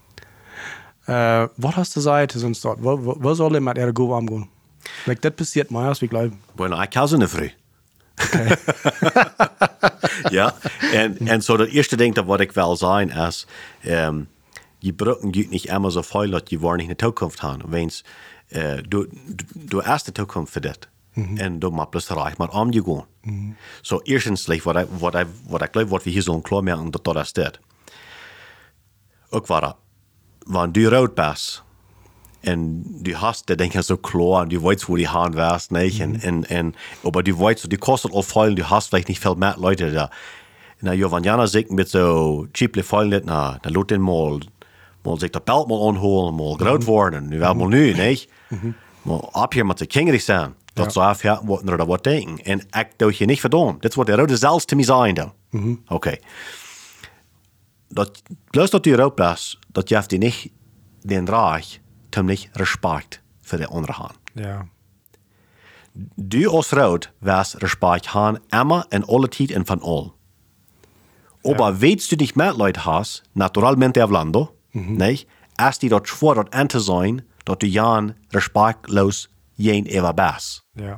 Was hast du gesagt, sonst dort? Was soll denn mit ihrer Goef umgehen? Like, das passiert mir, als wir glauben. Bueno, ich kann so eine Früh. Okay. Ja, und so das erste Ding, was ich will sagen, ist, die Brücken geht nicht immer so viel, dass die nicht eine Zukunft haben. Wenn du hast eine Zukunft für das. Und du machst bloß reich mit umgehen. So, erstens, was ich glaube, was wir hier so klar merken, dass das ist. Auch war, wenn du rot bist, und du hast die Dinge so klar, und du weißt, wo die Hand wärst, nicht? Aber du weißt, du kostet auch viel, du hast vielleicht nicht viel mehr Leute da. Na, ja, wenn jemand sich mit so cheaply fallen, dann lässt den mal sich das Belt mal anholen, mal groß worden, nu wel mal nu, nicht? Mal ab hier mit der Kingerig sein, dat zou afheten worden oder wat denken. En ik doe je niet verdammt. Dat is wat de rode zelfs te mij zijn dan. Oké. Bloß dat je rood bent, dat je die niet den Reich, tom niet respect voor de andere hand. Ja. Du als rood was respect haben, immer en alle tijd en van al. Aber weißt du nicht mehr Leute hast, naturalmente hablando, nicht? Als die dort schwor dort an zu sein, dort du Jan respektlos jen ever bist. Ja.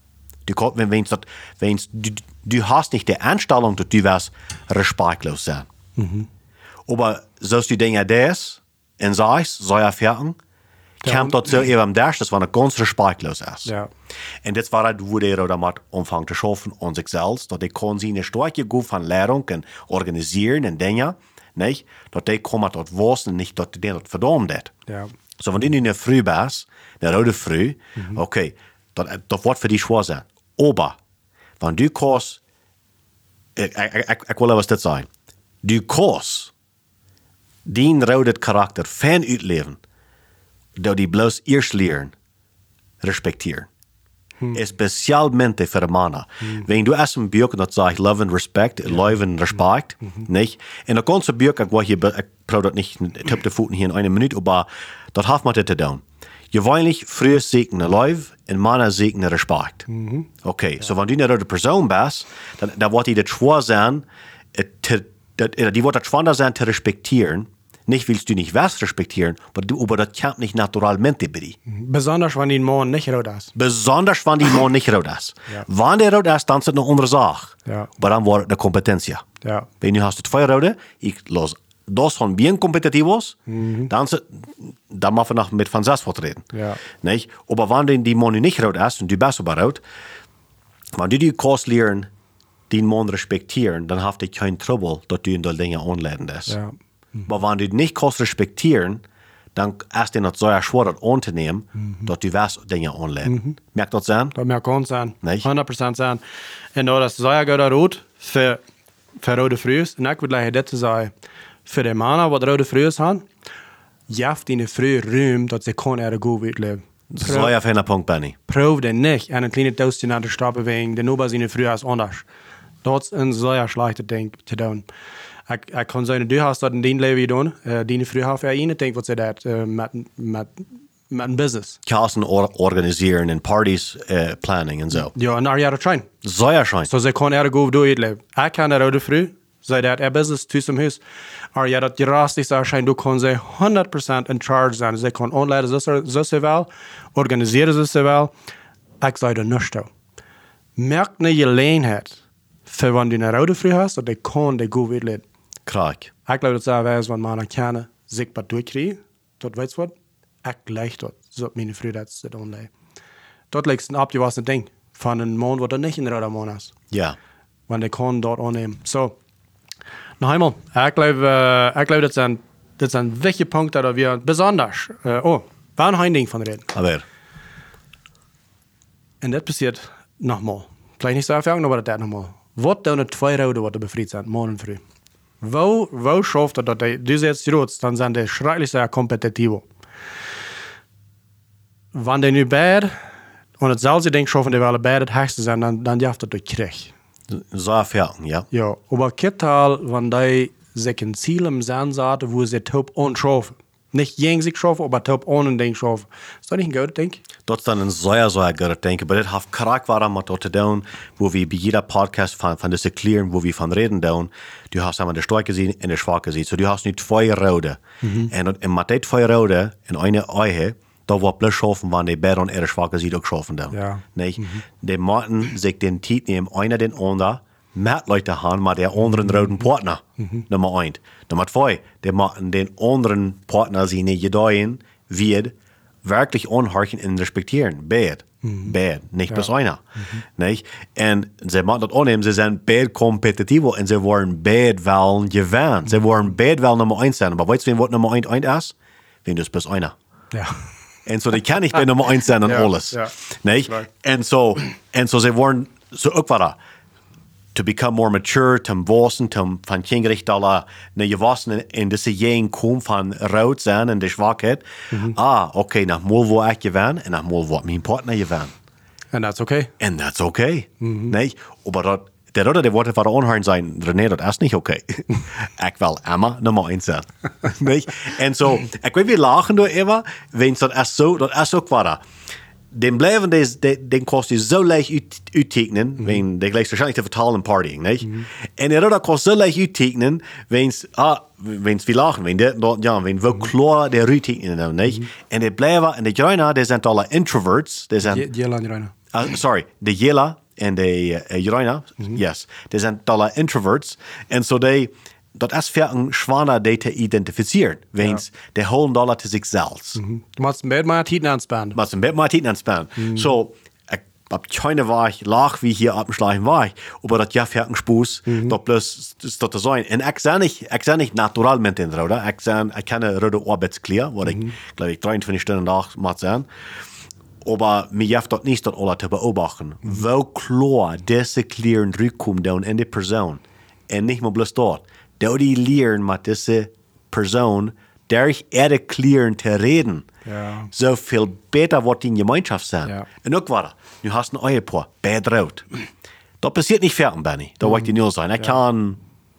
Du hast nicht die Einstellung, dass du wirst respektlos sein. Aber sollst du Dinge das und sagst, so erfahren, kommt dort so eben das, das war eine ganz respektlos ist. Ja. Und das war wo der damit anfangen zu schaffen an sich selbst, dass die kann sie eine starke Gruppe von Lehrung und organisieren und Dinge, nicht? Dass die kommen dort was und nicht, dass die dort verdammt hat. Ja. So, wenn du in der Früh bist, der rote Früh, okay, das wird für dich schwer sein. Aber, wenn du kannst, ich will was das sein, du kannst den roten Charakter fan uitleven, dat die bloß erst lernen, respektieren. Especialmente für Männer. Wenn du erst ein Buch, das sagt Love and Respect, Love and Respect, nicht? In der ganzen Buch, ich brauche das nicht, ich tippe die Pfoten hier in einer Minute, aber das hat man das zu tun. Gewöhnlich früher segnen Love und Männer segnen Respekt. Okay, so wenn du eine rote Person bist, dann wird die das schwer sein, die wird das schwer sein zu respektieren. Nicht willst du nicht was respektieren, aber das kommt nicht naturalmente bei dir. Besonders wenn die Mann nicht rot ist. Besonders wenn die Mann nicht rot ist. Ja. Wenn der rot ist, dann ist es eine andere Sache. Ja. Aber dann war es eine Kompetenz. Ja. Wenn du hast zwei Rote, ich los dos son bien competitivos, dann machen wir noch mit von selbst reden. Ja. Nicht? Aber wenn die Mann nicht rot ist und du bist aber rot, wenn du die Kurs lernen, den Mann respektieren, dann hast du kein Trouble, dass du in die Dinge anleiten lässt. Ja. Aber wenn du nicht kannst respektieren, dann ist es nicht so schwer, das anzunehmen, dass du was Dinge anleiten. Merkt das sein? Das merkt uns sein. 100% sein. Und das ist sehr gut rot für rote Frühs. Und ich würde gleich das sagen, für die Männer, die rote Frühs haben, jaft ihnen früh Raum, dass sie ihre gut leben. So ein feiner Punkt, Benny. Prof den nicht, einen kleinen Toast an der Straße wegen, denn nur seine Früh ist anders. Das ist ein sehr schlechtes Ding zu tun. Ich kann sagen, du hast das in dein Leben getan, deine Früh hast du ja nicht gedacht, was sie das mit einem Business. Kassen organisieren und Partys planning und so. Ja, und er hat schein. So ja schein. So sie kann gut durchleben. Ich kann eine rote Früh Sei dat business tussen hem huis. Maar ja, dat rastig zou zijn, dan kon ze 100% in charge zijn. Ze kon aanleiden ze wel, organiseren ze wel. Ik zei er niks toe. Merk niet je leenheid. Voor wanneer je een oude vrouw hast, dat je kan die goed weten. Kraak. Ik geloof dat zij wijs, want man kan zich wat doorkrijgen. Dat weet je wat? Ik leg dat. Zo mijn vrouw dat ze dan leidt. Dat lijkt een abgewassen ding. Van een man wat er niet in de oude man is. Ja. Want ik kan dat aannemen. Zo. Nog eenmaal. Ik geloof dat zijn wichtige punten dat we besonders. Waar een ding van reden. Aber. En dat passeert nogmaals. Vielleicht niet zo ervaring, maar dat nogmaals. Wat doen de twee roden wat er bevrijd zijn, man en vrouw? Wo schafft dat die jetzt groot, dan zijn die schrecklich sehr competitiv. Wanneer die nu beide, en hetzelfde ding schaffen, die willen beide het hoogste zijn, dan jaft dat door krijg. Zo erfaring, ja. Ja, aber kittal, wanneer die zich een ziel im Sand zaten, wo sie top anschaffen. Nicht gegen sich schaffen, aber top ohne Ding schaffen. Ist das nicht ein guter Ding? Dat is dan een zeer guter ding. Maar dit heeft kraak waarom met dat te doen, wo we bij jeder podcast van deze kleren, wo we van reden doen, du hast einmal de sterke zien en de schwache zien. So du hast nu twee rode. En met die twee rode en een eigen, dat wordt plus schaffen, wanneer die beide en de schwache zien ook schaffen doen. Ja. Nee? Die moeten zich den tijd nemen, einer den ander, met Leute haben, maar der anderen roten Partner. Nummer 1. Nummer 2, die moeten den anderen Partner zien die gedeihen, wird wirklich anhorchen und respektieren. Bad. Bad. Nicht bis einer. Nicht? Und sie machen das annehmen, sie sind bad kompetitiv und sie wollen bad wollen gewinnen. Sie wollen bad wollen Nummer 1 sein. Aber weißt du, was Nummer 1 ist? Wenn du es bis einer. Ja. Und so, die kann nicht bei Nummer 1 sein und alles. Ja. Nicht? Right. Und so, sie wollen so auch weiter. To become more mature, zum Wissen, zum von Kindgericht alle, ne, je wassen in diese Jahre kommen von Rot sein und der Schwachheit. Okay, nach mal wo ich gewinn und nach mal wo mein Partner gewinn. And that's okay. And that's okay. Nicht? Aber der Rote, Worte von der Unhören sein, René, das ist nicht okay. Ich will immer Nummer 1 sein. Nicht? Und so, ich will, wir lachen nur immer, wenn es das ist so quadra. Den blijven den kost je zo leicht uittekenen, wenn der gleich wahrscheinlich te vertalen partying, nicht? En der Roder kost zo leicht uittekenen, wenn's wir lachen, wenn wir klar der uittekenen, nicht? En der blijven, en de Joina, die sind alle introverts, die sind, Jela en Joina. sorry, de Jela en de Joina, yes, die sind alle introverts, en so dat is voor een schwanger die te identificeren. Wens, die holen dat te zichzelf. Du machst ein Bett mal Titen anspannen. Maar een beetje maar tijd aanspannen. So, ik heb keine Waag, laag wie hier op een schleichen Waag, aber dat ja für een spoes, dat plus dat te zijn. En ik zijn niet naturalmente in Rode. Ik kan een rode arbeidskleer, wat ik, glaube ich, 23 Stunden dag moet zijn. Aber mir jaft dat niet dat alle te beobachten. Wel klar deze kleren terugkomen doen in die persoon. En niet maar bloß dort. Dat die leren met deze persoon, durch ihre kleren te reden. Ja. So viel besser wird die Gemeinschaft sein. Ja. Und auch weiter. Du hast ein Ehepaar, beide rot. Das passiert nicht fertig, Benny. Da wollte ich nur sein. Ich kann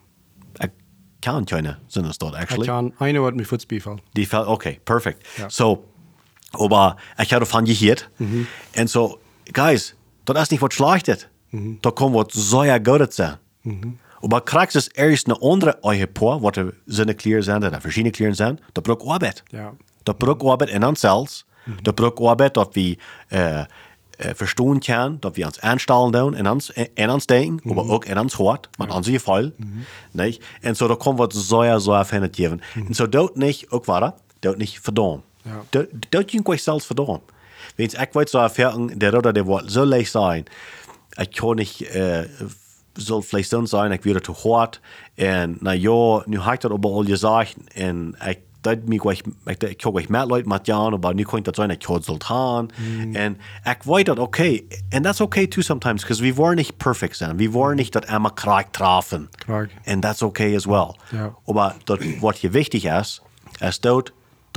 keine Sinnesdort, actually. Ich kann eine, was mir Fuß befällt. Die fällt, okay, perfekt. Ja. So, aber ich habe davon gehört. Und so, guys, das ist nicht was Schlechtes. Da kann was sehr Gutes sein. Aber kriegst es erst eine andere Ehepaar, was seine Kleren sind, oder verschiedene Kleren sind, da braucht Arbeit. Ja. Da braucht Arbeit in uns selbst. Da braucht Arbeit, dass wir verstehen können, dass wir uns einstellen tun, in uns denken, aber auch in uns hört, mit unserem Fall. Nicht? Und so, da kommen wir sehr, sehr fein geben. Und so, dort nicht, auch weiter, dort nicht verdammt. Ja. Dort kann ich selbst verdammt. Wenn ich weiß, so erfahren, der Roder, der wird so leicht sein, ich kann nicht, soll vielleicht so sein, ich werde zu hart. Und na ja, nu habe ich das aber all gesagt. Und ich kann euch mehr Leute mit Jan, aber nu kann ich das sein, ich kann es haben. Und ich weiß das okay. And that's okay too sometimes, because we wollen nicht perfekt sein. Wir wollen nicht das einmal Krieg treffen. Krieg. And that's okay as well. Ja. Aber das, was hier wichtig ist dort,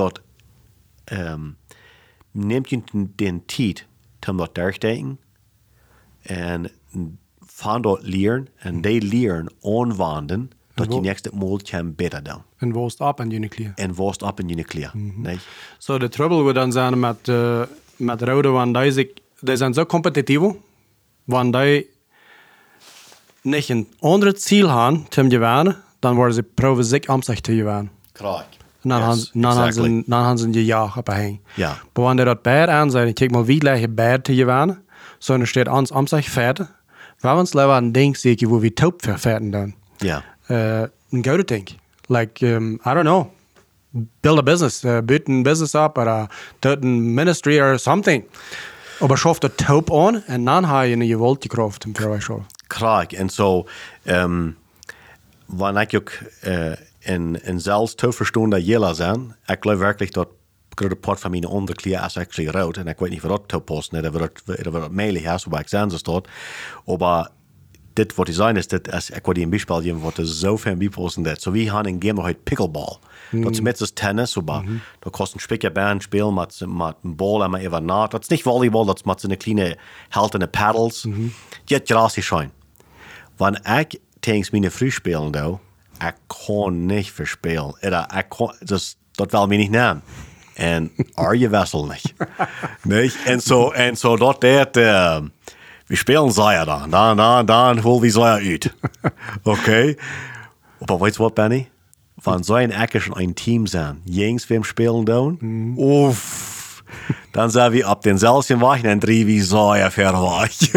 nehmt ihr den Zeit, um das durchdenken und von dort lernen und die lernen anwenden, dass die nächste Mal kann besser tun. En woest op en jullie klier. En worst op in je kleren. Nee? So, de trouble wordt dan zijn met rode, want die zijn zo competitief, want die nicht ein anderes Ziel haben, zum gewinnen, dann wollen sie proben, sich am sich zu gewinnen. Klar. En dan, Yes, dan gaan ze een jaar op heen. Ja. Maar wanneer dat beide aan zijn, kijk maar wie gleich beide te gewinnen, so dan steht ons am sich verder. Waar ons liever een ding zeker, wo wir taub verfertigen dan. Ja. Een goede ding. Like, I don't know. Build a business. Build een business up, or doet een ministry or something. Aber schafft er taub an, en dan ga je een geweldige kracht im Verweis. Klar. En zo, wanneer ik ook in zelfs te verstonden jela zijn, ik geloof werkelijk dat grote part van mijn onderkleer is actually rood. En ik weet niet wat dat te posten, dat wat mailig is, waar ik zijn staat. Maar dit wat die zijn is, dit is, ik wil die een beispiel geven, wat er zoveel bij posten dat. So we gaan een game nog uit pickleball. Dat is met tennis, aber da kost een spikker band spelen met een bal en maar even na. Dat is niet volleybal, dat is met zo'n kleine heltende paddles. Die het gratis schijn. Wanneer ik tegen mijn vriend spelen doe, ik kan niet verspelen. Ik kan, dus, dat wil me niet nemen. En je wessel niet. Niet? En zo dat we spelen Zaya dan holen we Zaya uit. Oké? Maar weet je wat, Benny? Van zo'n Eckers een team zijn, jongens wem spelen doen, uff, dan zijn we op denzelfde wacht en drie wie Zaya verwacht.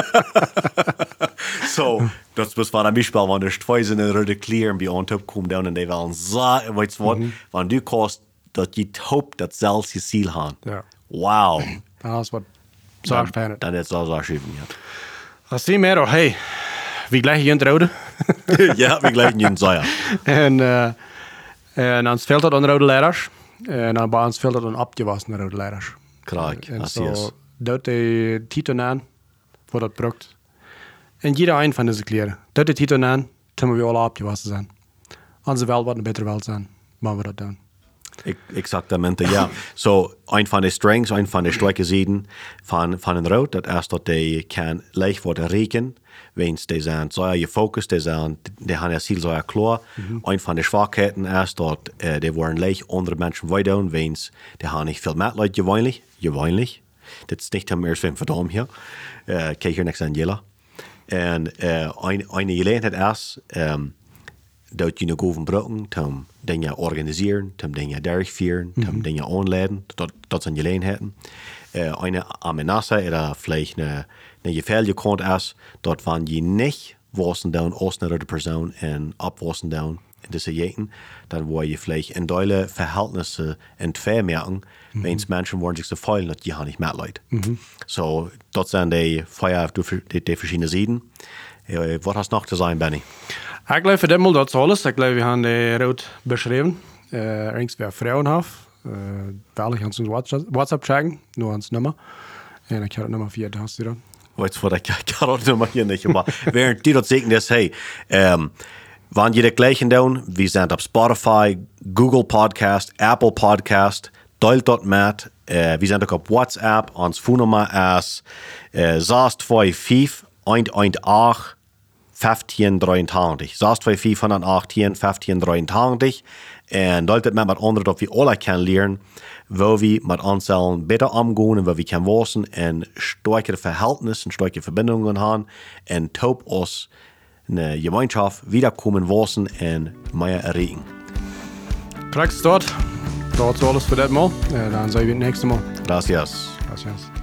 So, dat was van een bijspel, want er twee zijn in rode kleren bij ons opkomen doen en die willen Zaya, weet je wat, want du kost dat je hoopt dat zelfs je ziel gaan. Ja. Wauw. Dat is wat zo spannend. Dan is het zo schrijven, ja. Dat zie je meer, hey, wie gleich je rode. Ja, we gleich je Zaya. En dan speelt dat een rode leiders. En dan bij ons speelt dat een opgewassen rode leiders. Kijk, En dat zo is. doet de titel aan, voor dat brukt. En jeder een van deze kleren. Doet de titel aan, toen we alle opgewassen zijn. Onze wel wat een betere welt zijn, maar we dat doen. Exactamente, ja. So, een van de strengths, een van de sterke zijden van een rood, dat is dat die kan leicht worden rekenen. Wens die zijn zo je focus, die hebben je ziel zo klaar. Een van de zwakheden is dat die worden leicht andere mensen weiden, wens die hebben niet veel metleid gewöhnlich. Dat is niet meer zo verdom hier. Kijk hier niks aan Jella. En een gelegenheid is, dat je nog overbruggen, om dingen organiseren, om dingen durchführen, om dingen aanleiden. Dat zijn gelegenheden. Eine amenaza is vielleicht een gefährliche kant is, dat wanneer je niet wassen doen als een andere persoon en opwassen doen in deze jeten, dan word je vielleicht in duidelijke verhältnissen entfermen, wens mensen worden zich zo veel dat je niet metleidt. So, dat zijn die verschillende zijden. Wat hast nog te zijn, Benny? Ik geloof voor dit mal dat is alles. Ik geloof we hebben de rood beschreven. Ergens bij vrouwen af. Wel, ik ga ons WhatsApp checken, nur ons nummer. En ik heb het nummer 4, dat hast du dan. Weet je wat, ik kan het nummer hier niet, maar während die dat zeggen is, hey, wanneer je de gleichen doen, we zijn op Spotify, Google Podcast, Apple Podcast, deel dat met, we zijn ook op WhatsApp, ons phonenummer is 625 118 1523. 625 118 1523. En dat het met anderen dat we alle kunnen leren, waar we met onszelf beter omgaan en waar we kunnen wassen en sterkere verhältnissen en sterkere verbindungen hebben en top ons een gemeenschap wiederkomen wassen en meer erreichen. Praktisch dat is alles voor dit mal. Dan zijn we het nächste mal. Gracias. Gracias.